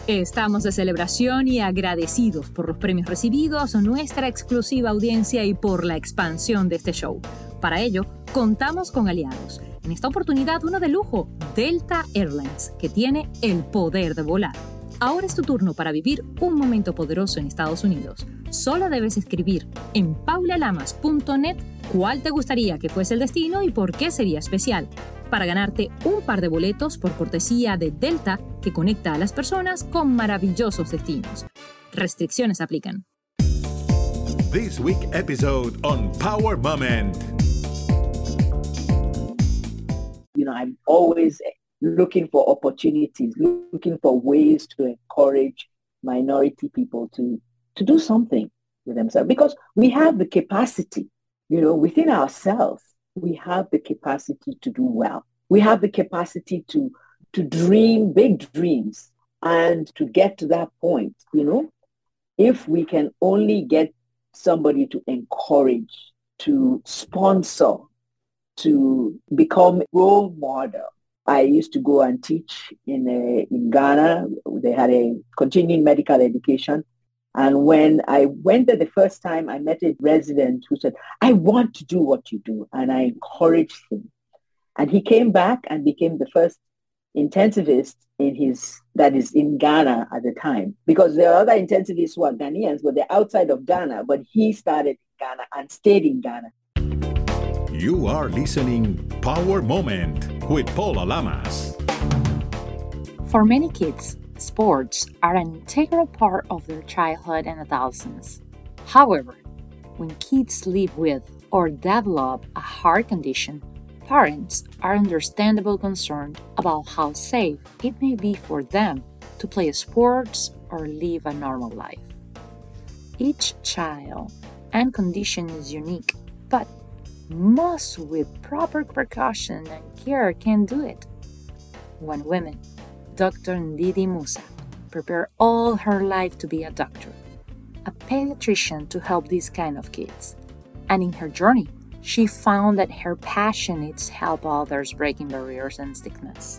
Estamos de celebración y agradecidos por los premios recibidos, nuestra exclusiva audiencia y por la expansión de este show. Para ello, contamos con aliados. En esta oportunidad, uno de lujo, Delta Airlines, que tiene el poder de volar. Ahora es tu turno para vivir un momento poderoso en Estados Unidos. Solo debes escribir en paulalamas.net cuál te gustaría que fuese el destino y por qué sería especial, para ganarte un par de boletos por cortesía de Delta que conecta a las personas con maravillosos destinos. Restricciones aplican. This week episode on Power Moment. I'm always looking for opportunities, looking for ways to encourage minority people to do something with themselves, because we have the capacity, within ourselves. We have the capacity to do well. We have the capacity to dream big dreams and to get to that point, if we can only get somebody to encourage, to sponsor, to become a role model. I used to go and teach in Ghana. They had a continuing medical education. And when I went there the first time, I met a resident who said, I want to do what you do. And I encouraged him. And he came back and became the first intensivist that is in Ghana at the time. Because there are other intensivists who are Ghanaians, but they're outside of Ghana. But he started in Ghana and stayed in Ghana. You are listening Power Moment with Paula Lamas. For many kids, sports are an integral part of their childhood and adolescence. However, when kids live with or develop a heart condition, parents are understandably concerned about how safe it may be for them to play sports or live a normal life. Each child and condition is unique, but most with proper precaution and care can do it. One woman, Dr. Ndidi Musa, prepared all her life to be a doctor, a pediatrician to help these kind of kids. And in her journey, she found that her passion is help others breaking barriers and stigmas.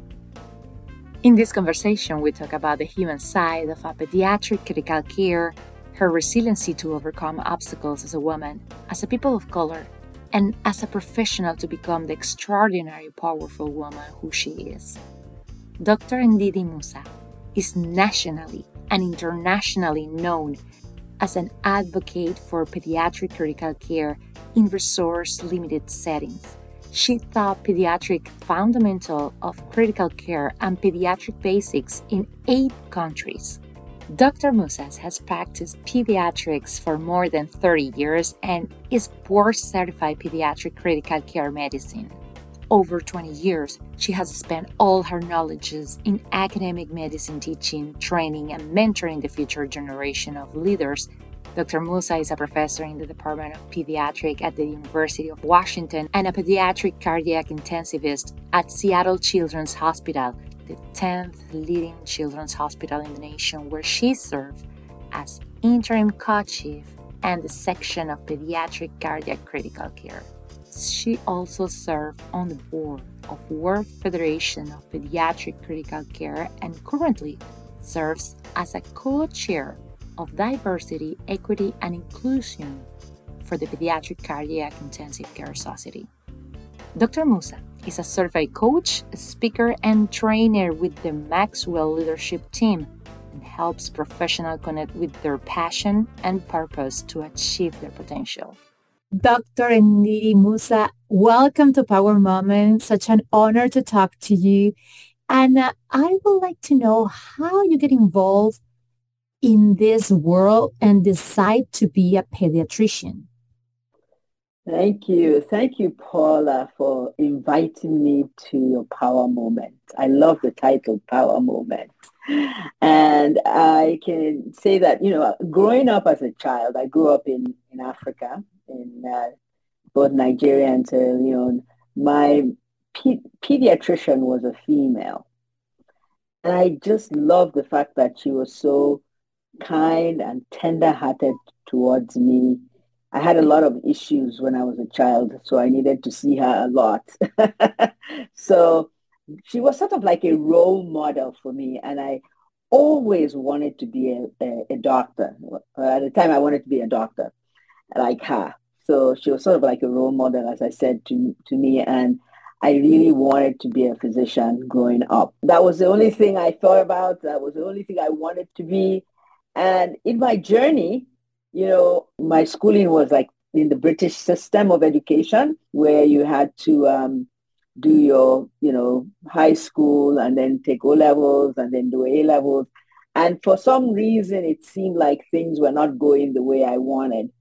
In this conversation, we talk about the human side of a pediatric critical care, her resiliency to overcome obstacles as a woman, as a people of color, and as a professional to become the extraordinary, powerful woman who she is. Dr. Ndidi Musa is nationally and internationally known as an advocate for pediatric critical care in resource-limited settings. She taught pediatric fundamental of critical care and pediatric basics in 8 countries. Dr. Musa has practiced pediatrics for more than 30 years and is board-certified pediatric critical care medicine. Over 20 years, she has spent all her knowledges in academic medicine teaching, training, and mentoring the future generation of leaders. Dr. Musa is a professor in the Department of Pediatrics at the University of Washington and a pediatric cardiac intensivist at Seattle Children's Hospital, the 10th leading children's hospital in the nation, where she served as interim co-chief and the section of pediatric cardiac critical care. She also served on the board of World Federation of Pediatric Critical Care and currently serves as a co-chair of Diversity, Equity, and Inclusion for the Pediatric Cardiac Intensive Care Society. Dr. Musa is a certified coach, speaker, and trainer with the Maxwell Leadership Team and helps professionals connect with their passion and purpose to achieve their potential. Dr. Ndidi Musa, welcome to Power Moment. Such an honor to talk to you. And I would like to know how you get involved in this world and decide to be a pediatrician. Thank you. Thank you, Paula, for inviting me to your Power Moment. I love the title, Power Moment. And I can say that, growing up as a child, I grew up in Africa, in both Nigeria and Sierra Leone. My pediatrician was a female. And I just loved the fact that she was so kind and tender-hearted towards me. I had a lot of issues when I was a child, so I needed to see her a lot. So she was sort of like a role model for me. And I always wanted to be a doctor. At the time, I wanted to be a doctor like her. So she was sort of like a role model, as I said, to me. And I really wanted to be a physician growing up. That was the only thing I thought about. That was the only thing I wanted to be. And in my journey, my schooling was like in the British system of education, where you had to do your, high school and then take O levels and then do A levels. And for some reason, it seemed like things were not going the way I wanted.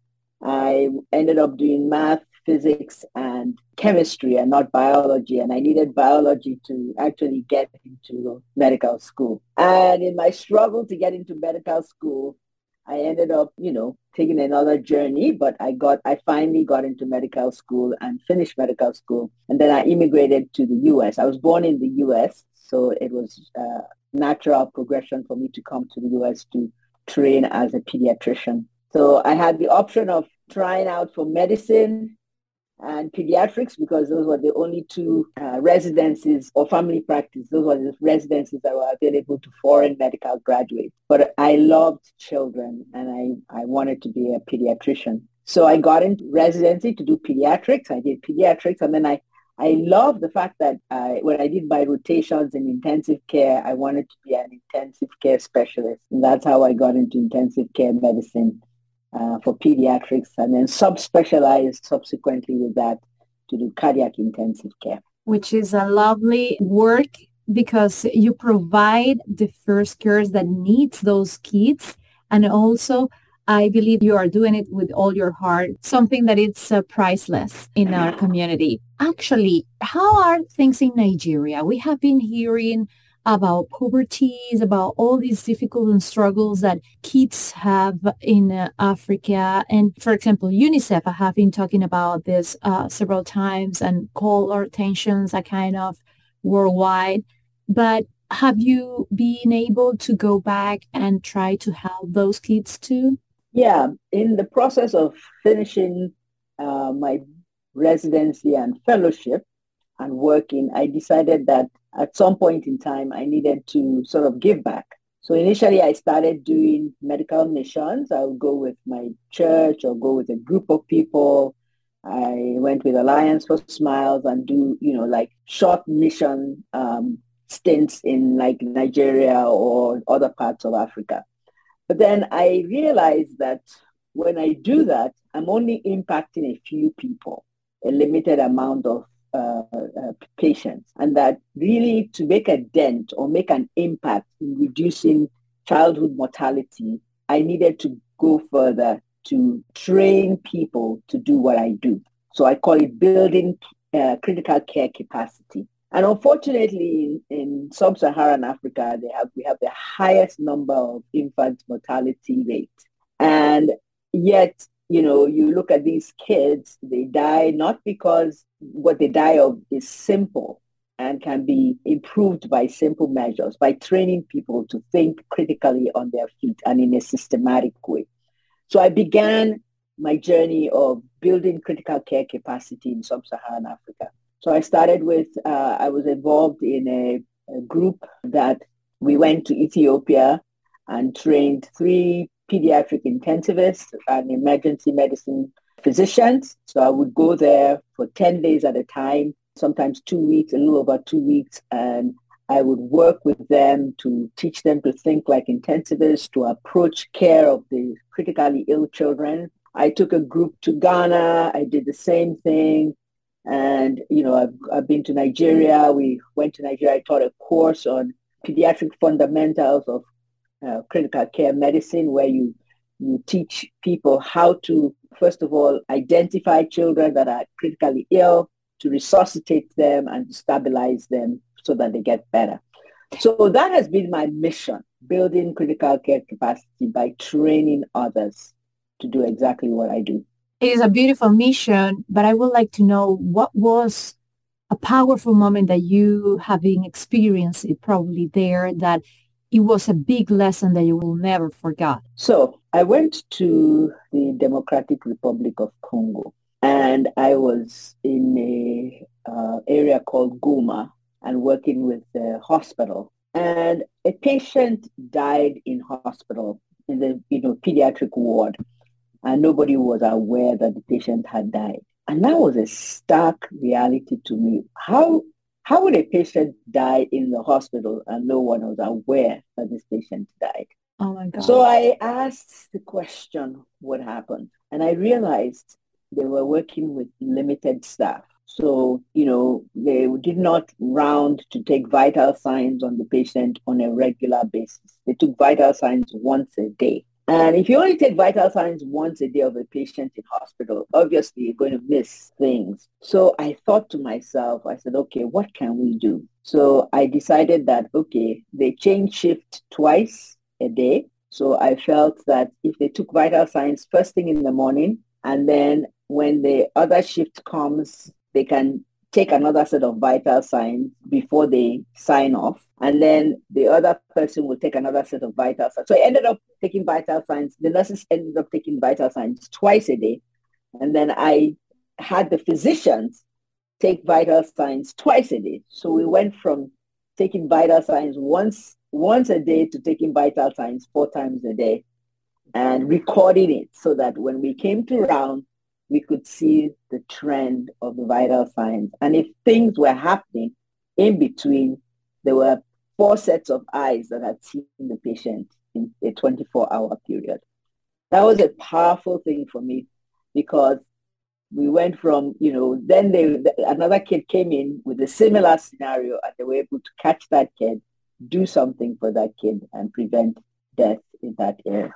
I ended up doing math, physics, and chemistry and not biology. And I needed biology to actually get into medical school. And in my struggle to get into medical school, I ended up, taking another journey, but I finally got into medical school and finished medical school. And then I immigrated to the US. I was born in the US, so it was a natural progression for me to come to the US to train as a pediatrician. So I had the option of trying out for medicine and pediatrics because those were the only two residencies or family practice. Those were the residencies that were available to foreign medical graduates. But I loved children and I wanted to be a pediatrician. So I got into residency to do pediatrics. I did pediatrics, and then I love the fact that when I did my rotations in intensive care, I wanted to be an intensive care specialist. And that's how I got into intensive care medicine for pediatrics, and then subspecialized subsequently with that to do cardiac intensive care. Which is a lovely work because you provide the first cares that needs those kids. And also, I believe you are doing it with all your heart, something that is priceless in our community. Actually, how are things in Nigeria? We have been hearing about poverty, about all these difficult struggles that kids have in Africa. And for example, UNICEF, I have been talking about this several times and call our attentions a kind of worldwide. But have you been able to go back and try to help those kids too? Yeah, in the process of finishing my residency and fellowship and working, I decided that at some point in time, I needed to sort of give back. So initially, I started doing medical missions. I would go with my church or go with a group of people. I went with Alliance for Smiles and do, like short mission stints in like Nigeria or other parts of Africa. But then I realized that when I do that, I'm only impacting a few people, a limited amount of patients, and that really to make a dent or make an impact in reducing childhood mortality, I needed to go further to train people to do what I do. So I call it building critical care capacity. And unfortunately, in sub-Saharan Africa, we have the highest number of infant mortality rate. And yet, you look at these kids, they die not because what they die of is simple and can be improved by simple measures, by training people to think critically on their feet and in a systematic way. So I began my journey of building critical care capacity in sub-Saharan Africa. So I started with, I was involved in a group that we went to Ethiopia and trained 3 pediatric intensivists and emergency medicine physicians. So I would go there for 10 days at a time, sometimes 2 weeks, a little over 2 weeks, and I would work with them to teach them to think like intensivists, to approach care of the critically ill children. I took a group to Ghana. I did the same thing. And, I've been to Nigeria. We went to Nigeria. I taught a course on pediatric fundamentals of critical care medicine, where you teach people how to, first of all, identify children that are critically ill, to resuscitate them and to stabilize them so that they get better. So that has been my mission, building critical care capacity by training others to do exactly what I do. It is a beautiful mission, but I would like to know what was a powerful moment that you having experienced it probably there, that it was a big lesson that you will never forget. So I went to the Democratic Republic of Congo, and I was in a area called Goma and working with the hospital. And a patient died in hospital in the pediatric ward, and nobody was aware that the patient had died. And that was a stark reality to me. How would a patient die in the hospital and no one was aware that this patient died? Oh my God. So I asked the question, what happened? And I realized they were working with limited staff. So, they did not round to take vital signs on the patient on a regular basis. They took vital signs once a day. And if you only take vital signs once a day of a patient in hospital, obviously you're going to miss things. So I thought to myself, I said, okay, what can we do? So I decided that, okay, they change shift twice a day. So I felt that if they took vital signs first thing in the morning, and then when the other shift comes, they can take another set of vital signs before they sign off. And then the other person will take another set of vital signs. So I ended up taking vital signs. The nurses ended up taking vital signs twice a day. And then I had the physicians take vital signs twice a day. So we went from taking vital signs once a day to taking vital signs 4 times a day and recording it so that when we came to round, we could see the trend of the vital signs. And if things were happening in between, there were 4 sets of eyes that had seen the patient in a 24-hour period. That was a powerful thing for me because we went from, then another kid came in with a similar scenario and they were able to catch that kid, do something for that kid and prevent death in that area,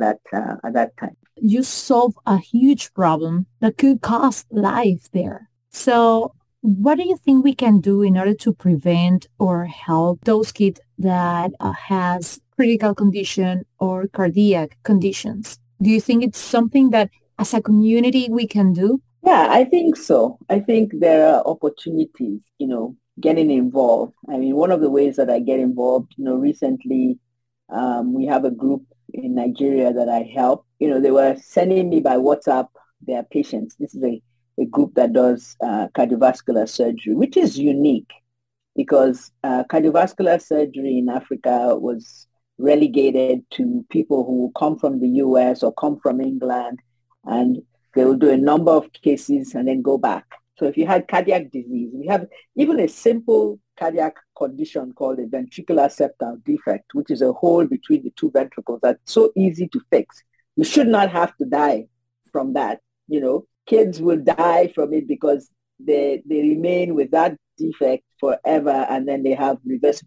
at that time. You solve a huge problem that could cost life there. So what do you think we can do in order to prevent or help those kids that has critical condition or cardiac conditions? Do you think it's something that as a community we can do? Yeah, I think so. I think there are opportunities, getting involved. I mean, one of the ways that I get involved, recently we have a group in Nigeria that I help. They were sending me by WhatsApp their patients. This is a group that does cardiovascular surgery, which is unique because cardiovascular surgery in Africa was relegated to people who come from the US or come from England, and they will do a number of cases and then go back. So if you had cardiac disease, we have even a simple cardiac condition called a ventricular septal defect, which is a hole between the 2 ventricles that's so easy to fix. You should not have to die from that. Kids will die from it because they remain with that defect forever, and then they have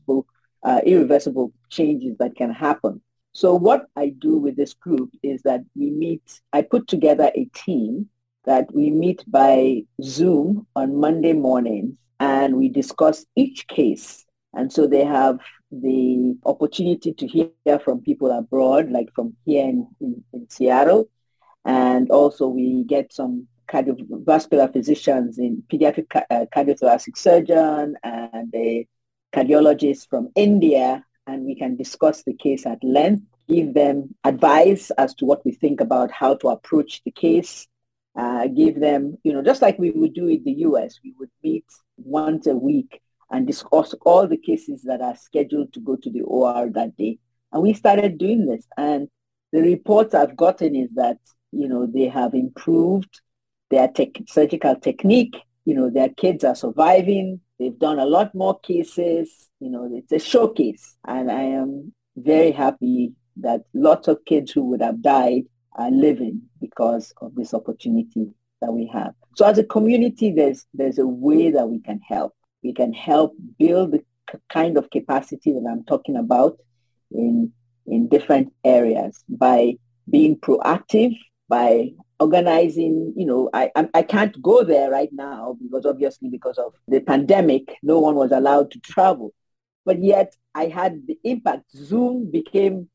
irreversible changes that can happen. So what I do with this group is that I put together a team that we meet by Zoom on Monday mornings, and we discuss each case. And so they have the opportunity to hear from people abroad, like from here in Seattle. And also we get some cardiovascular physicians in pediatric cardiothoracic surgeon and a cardiologist from India, and we can discuss the case at length, give them advice as to what we think about how to approach the case, give them, just like we would do in the US, we would meet once a week and discuss all the cases that are scheduled to go to the OR that day. And we started doing this. And the reports I've gotten is that, they have improved their surgical technique. Their kids are surviving. They've done a lot more cases. It's a showcase. And I am very happy that lots of kids who would have died are living because of this opportunity that we have. So as a community, there's a way that we can help. We can help build the kind of capacity that I'm talking about in different areas by being proactive, by organizing. I can't go there right now because of the pandemic, no one was allowed to travel. But yet I had the impact. Zoom became,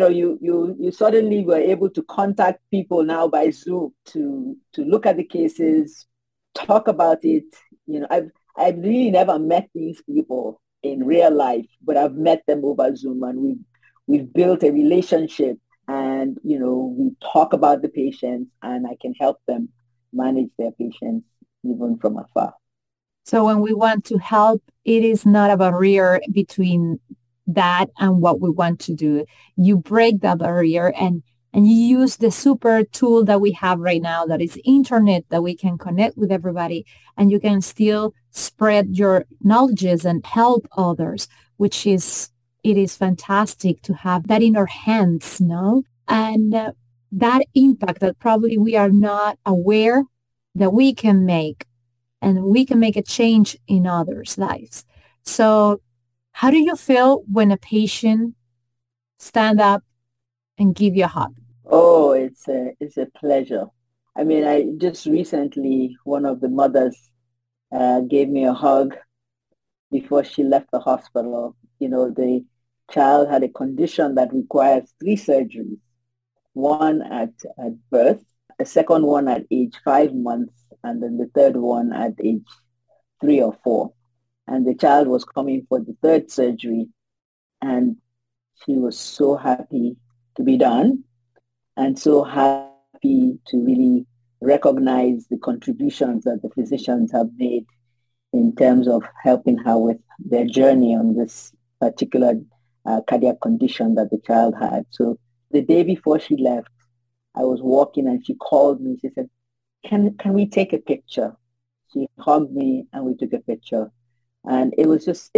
you suddenly were able to contact people now by Zoom to look at the cases, talk about it. I've really never met these people in real life, but I've met them over Zoom, and we've built a relationship, and we talk about the patients, and I can help them manage their patients even from afar. So when we want to help, it is not a barrier between that and what we want to do. You break that barrier and you use the super tool that we have right now, that is internet, that we can connect with everybody, and you can still spread your knowledges and help others, which is, it is fantastic to have that in our hands, no? And that impact that probably we are not aware that we can make, and we can make a change in others' lives. So how do you feel when a patient stand up and give you a hug? Oh, it's a pleasure. I mean, I just recently, one of the mothers gave me a hug before she left the hospital. You know, the child had a condition that requires 3 surgeries, one at birth, a second one at age 5 months, and then the third one at age 3 or 4. And the child was coming for the third surgery, and she was so happy to be done and so happy to really recognize the contributions that the physicians have made in terms of helping her with their journey on this particular cardiac condition that the child had. So the day before she left, I was walking and she called me. She said, can we take a picture? She hugged me and we took a picture. And it was just,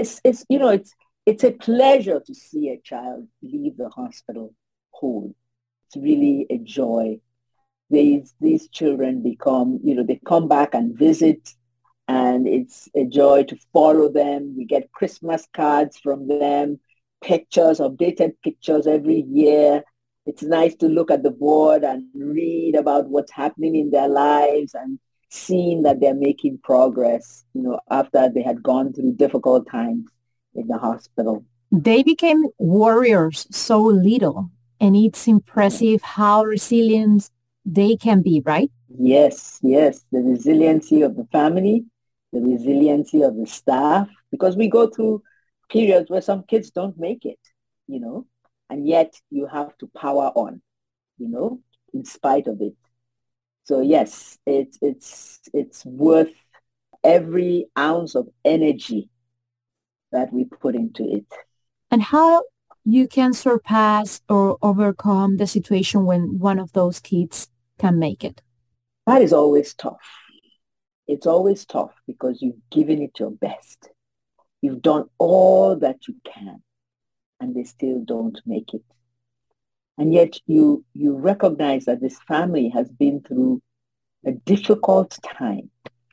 it's a pleasure to see a child leave the hospital whole. It's really a joy. These children become, they come back and visit, and it's a joy to follow them. We get Christmas cards from them, pictures, updated pictures every year. It's nice to look at the board and read about what's happening in their lives and seeing that they're making progress, after they had gone through difficult times in the hospital. They became warriors so little, and it's impressive how resilient they can be, right? Yes. The resiliency of the family, the resiliency of the staff, because we go through periods where some kids don't make it, and yet you have to power on, in spite of it. So yes, it's worth every ounce of energy that we put into it. And how you can surpass or overcome the situation when one of those kids can make it? That is always tough. It's always tough because you've given it your best. You've done all that you can, and they still don't make it. And yet you recognize that this family has been through a difficult time.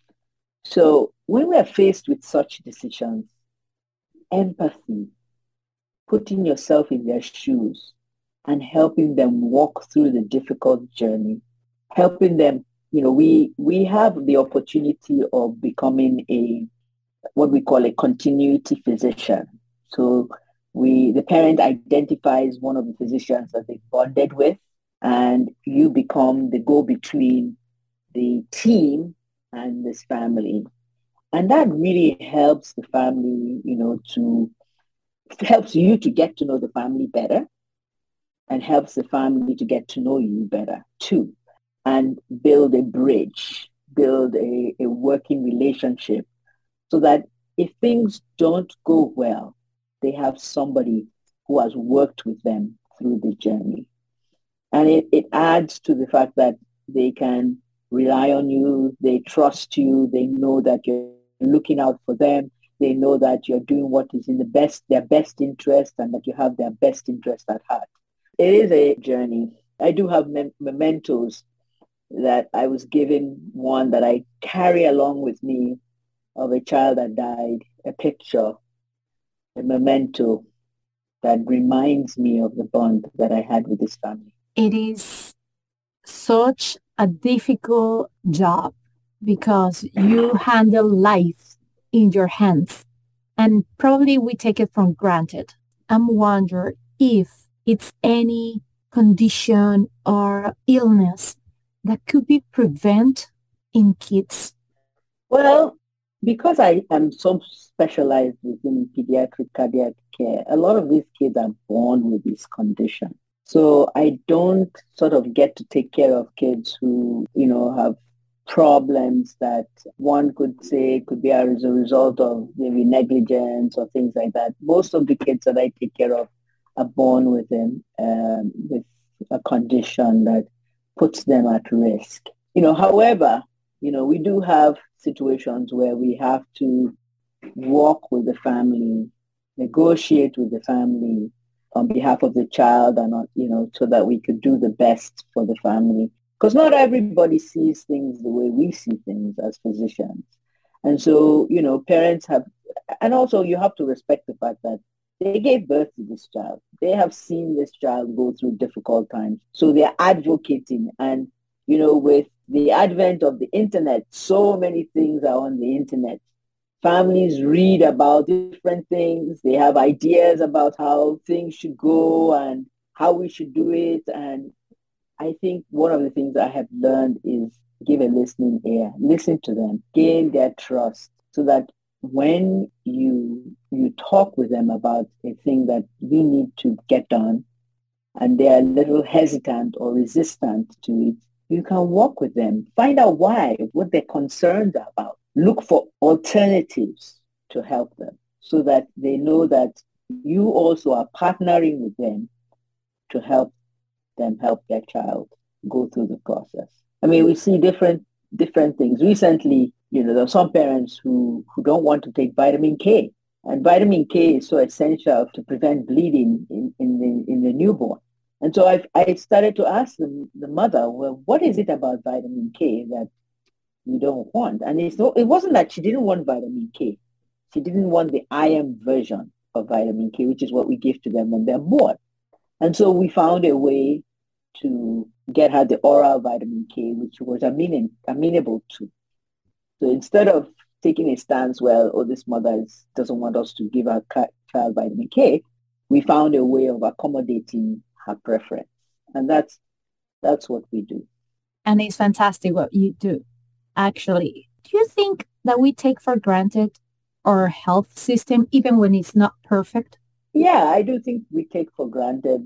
So when we're faced with such decisions, empathy, putting yourself in their shoes and helping them walk through the difficult journey, helping them, we have the opportunity of becoming what we call a continuity physician. So the parent identifies one of the physicians that they bonded with, and you become the go-between the team and this family. And that really helps the family, helps you to get to know the family better, and helps the family to get to know you better too, and build a bridge, build a working relationship, so that if things don't go well, they have somebody who has worked with them through the journey. And it adds to the fact that they can rely on you, they trust you, they know that you're looking out for them, they know that you're doing what is in their best interest, and that you have their best interest at heart. It is a journey. I do have mementos that I was given, one that I carry along with me of a child that died, a picture, a memento that reminds me of the bond that I had with this family. It is such a difficult job because you handle life in your hands, and probably we take it for granted. I'm wondering if it's any condition or illness that could be prevented in kids. Well, because I am so specialized within pediatric cardiac care, a lot of these kids are born with this condition. So I don't sort of get to take care of kids who, have problems that one could say could be as a result of maybe negligence or things like that. Most of the kids that I take care of are born with a condition that puts them at risk. However, we do have situations where we have to walk with the family, negotiate with the family on behalf of the child and not, so that we could do the best for the family. Because not everybody sees things the way we see things as physicians. And so, parents have, and also you have to respect the fact that they gave birth to this child. They have seen this child go through difficult times. So they're advocating. And, with the advent of the internet, so many things are on the internet. Families read about different things. They have ideas about how things should go and how we should do it. And I think one of the things I have learned is give a listening ear, listen to them, gain their trust so that when you talk with them about a thing that you need to get done and they are a little hesitant or resistant to it, you can walk with them, find out why, what their concerns are about, look for alternatives to help them so that they know that you also are partnering with them to help them help their child go through the process. I mean, we see different things. Recently, there are some parents who don't want to take vitamin K. And vitamin K is so essential to prevent bleeding in the newborn. And so I started to ask the mother, well, what is it about vitamin K that you don't want? And it wasn't that she didn't want vitamin K. She didn't want the iron version of vitamin K, which is what we give to them when they're born. And so we found a way to get her the oral vitamin K, which was amenable to. So instead of taking a stance, this mother doesn't want us to give our child vitamin K, we found a way of accommodating her preference. And that's what we do. And it's fantastic what you do, actually. Do you think that we take for granted our health system even when it's not perfect? Yeah, I do think we take for granted,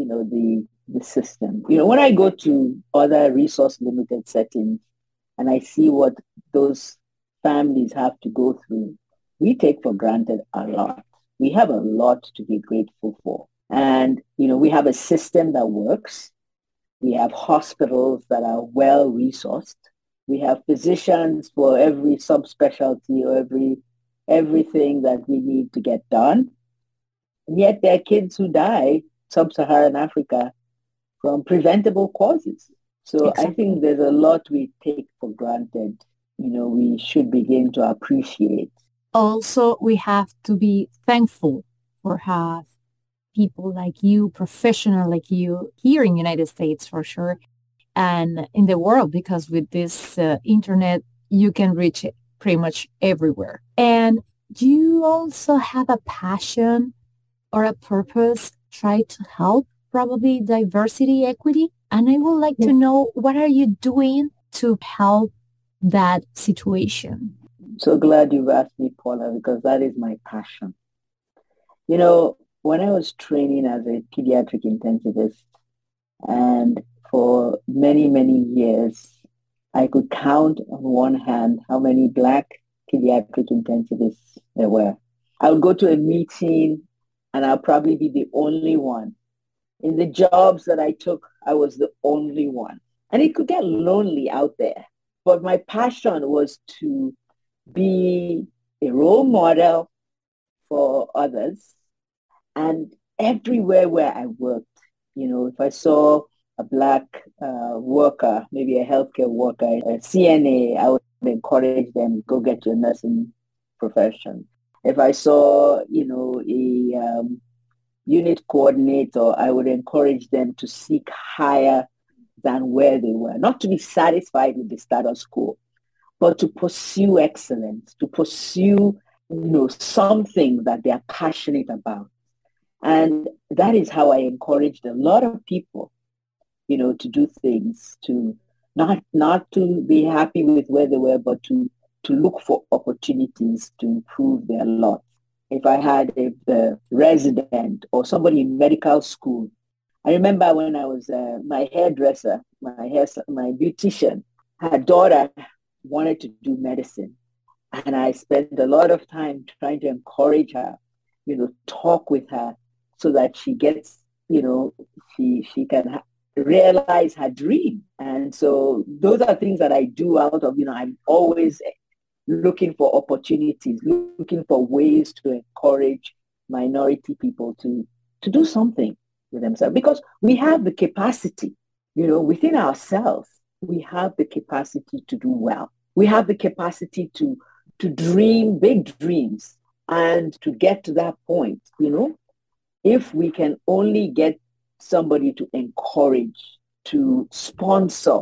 the system. When I go to other resource limited settings and I see what those families have to go through, we take for granted a lot. We have a lot to be grateful for. And, we have a system that works. We have hospitals that are well resourced. We have physicians for every subspecialty or everything that we need to get done. And yet there are kids who die sub-Saharan Africa from preventable causes. So exactly. I think there's a lot we take for granted, we should begin to appreciate. Also, we have to be thankful for have people like you, professional like you, here in the United States for sure, and in the world, because with this internet, you can reach it pretty much everywhere. And do you also have a passion or a purpose, try to help probably diversity, equity? And I would like to know, what are you doing to help that situation? So glad you've asked me, Paula, because that is my passion. When I was training as a pediatric intensivist, and for many, many years, I could count on one hand how many Black pediatric intensivists there were. I would go to a meeting and I'll probably be the only one. In the jobs that I took, I was the only one. And it could get lonely out there. But my passion was to be a role model for others. And everywhere where I worked, if I saw a Black worker, maybe a healthcare worker, a CNA, I would encourage them, go get your nursing profession. If I saw, a unit coordinator, I would encourage them to seek higher than where they were, not to be satisfied with the status quo, but to pursue excellence, to pursue, something that they are passionate about. And that is how I encouraged a lot of people, to do things, to not to be happy with where they were, but to look for opportunities to improve their lot. If I had a resident or somebody in medical school, I remember when I was my hairdresser, my beautician, her daughter wanted to do medicine. And I spent a lot of time trying to encourage her, talk with her so that she gets, she can realize her dream. And so those are things that I do out of, I'm always looking for opportunities, looking for ways to encourage minority people to do something with themselves, because we have the capacity, within ourselves, we have the capacity to do well. We have the capacity to dream big dreams and to get to that point, if we can only get somebody to encourage, to sponsor,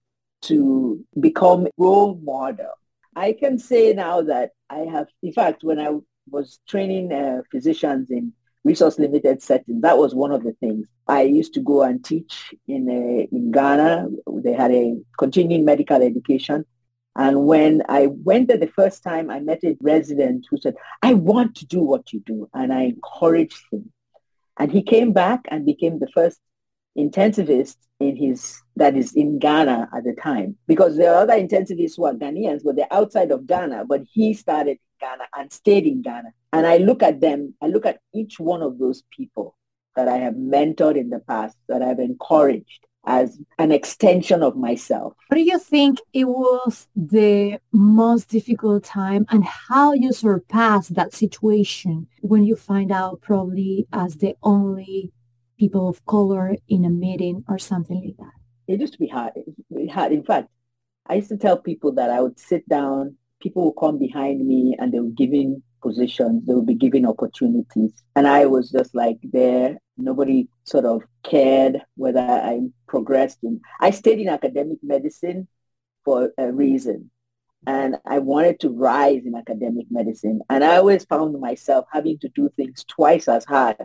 to become a role model. I can say now that I have, in fact, when I was training physicians in resource limited settings, that was one of the things. I used to go and teach in Ghana. They had a continuing medical education. And when I went there the first time, I met a resident who said, I want to do what you do. And I encouraged him. And he came back and became the first intensivist that is in Ghana at the time. Because there are other intensivists who are Ghanaians, but they're outside of Ghana. But he started in Ghana and stayed in Ghana. And I look at them, I look at each one of those people that I have mentored in the past, that I've encouraged as an extension of myself. What do you think it was the most difficult time, and how you surpassed that situation when you find out probably as the only people of color in a meeting or something like that? It used to be hard. In fact, I used to tell people that I would sit down, people would come behind me and they would give me positions, they would be given opportunities. And I was just like there. Nobody sort of cared whether I progressed. I stayed in academic medicine for a reason. And I wanted to rise in academic medicine. And I always found myself having to do things twice as hard,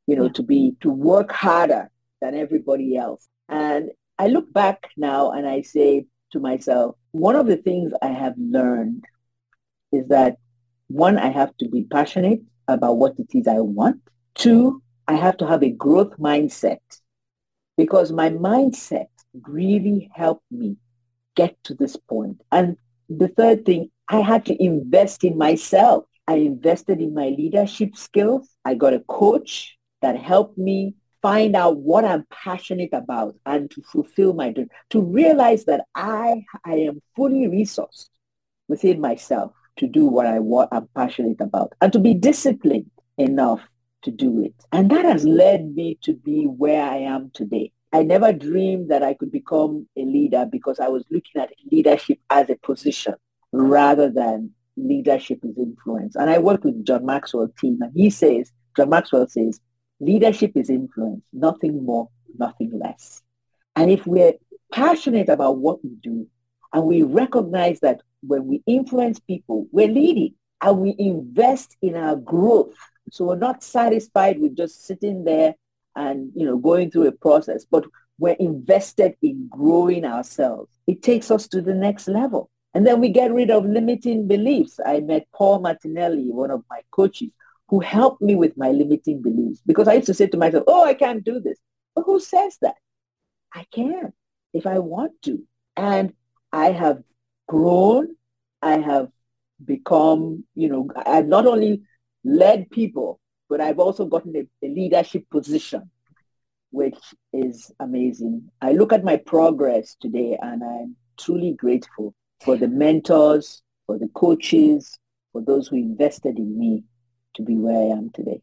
to work harder than everybody else. And I look back now and I say to myself, one of the things I have learned is that, one, I have to be passionate about what it is I want. Two, I have to have a growth mindset, because my mindset really helped me get to this point. And the third thing, I had to invest in myself. I invested in my leadership skills. I got a coach that helped me find out what I'm passionate about and to fulfill my dream, to realize that I am fully resourced within myself to do what I'm passionate about, and to be disciplined enough to do it. And that has led me to be where I am today. I never dreamed that I could become a leader, because I was looking at leadership as a position rather than leadership as influence. And I work with John Maxwell team, and John Maxwell says, leadership is influence, nothing more, nothing less. And if we're passionate about what we do, and we recognize that when we influence people, we're leading, and we invest in our growth. So we're not satisfied with just sitting there and, going through a process, but we're invested in growing ourselves. It takes us to the next level. And then we get rid of limiting beliefs. I met Paul Martinelli, one of my coaches, who helped me with my limiting beliefs, because I used to say to myself, I can't do this. But who says that? I can if I want to. And I have grown. I have become, I've not only led people, but I've also gotten a leadership position, which is amazing. I look at my progress today and I'm truly grateful for the mentors, for the coaches, for those who invested in me to be where I am today.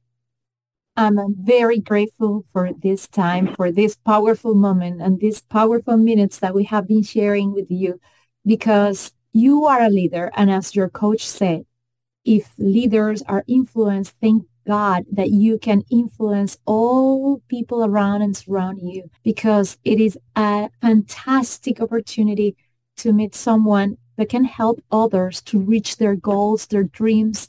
I'm very grateful for this time, for this powerful moment and these powerful minutes that we have been sharing with you, because you are a leader. And as your coach said, if leaders are influenced, thank God that you can influence all people around and surround you, because it is a fantastic opportunity to meet someone that can help others to reach their goals, their dreams,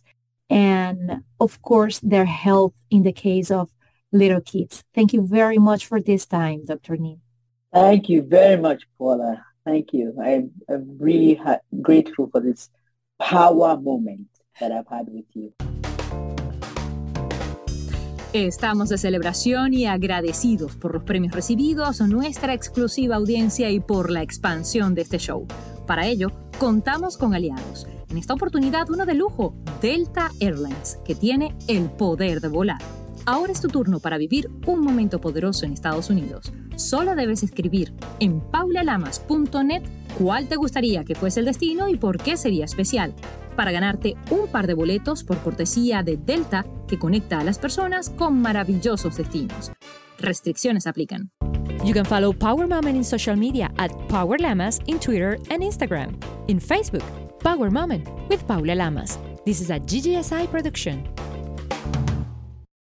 and of course, their health in the case of little kids. Thank you very much for this time, Dr. Nin. Thank you very much, Paula. Thank you. I'm really grateful for this power moment that I've had with you. Estamos de celebración y agradecidos por los premios recibidos, nuestra exclusiva audiencia y por la expansión de este show. Para ello, contamos con aliados. En esta oportunidad, uno de lujo, Delta Airlines, que tiene el poder de volar. Ahora es tu turno para vivir un momento poderoso en Estados Unidos. Solo debes escribir en paulalamas.net cuál te gustaría que fuese el destino y por qué sería especial, para ganarte un par de boletos por cortesía de Delta que conecta a las personas con maravillosos destinos. Restricciones aplican. You can follow Power Moment in social media at Power Lamas in Twitter and Instagram. In Facebook, Power Moment with Paula Lamas. This is a GGSI production.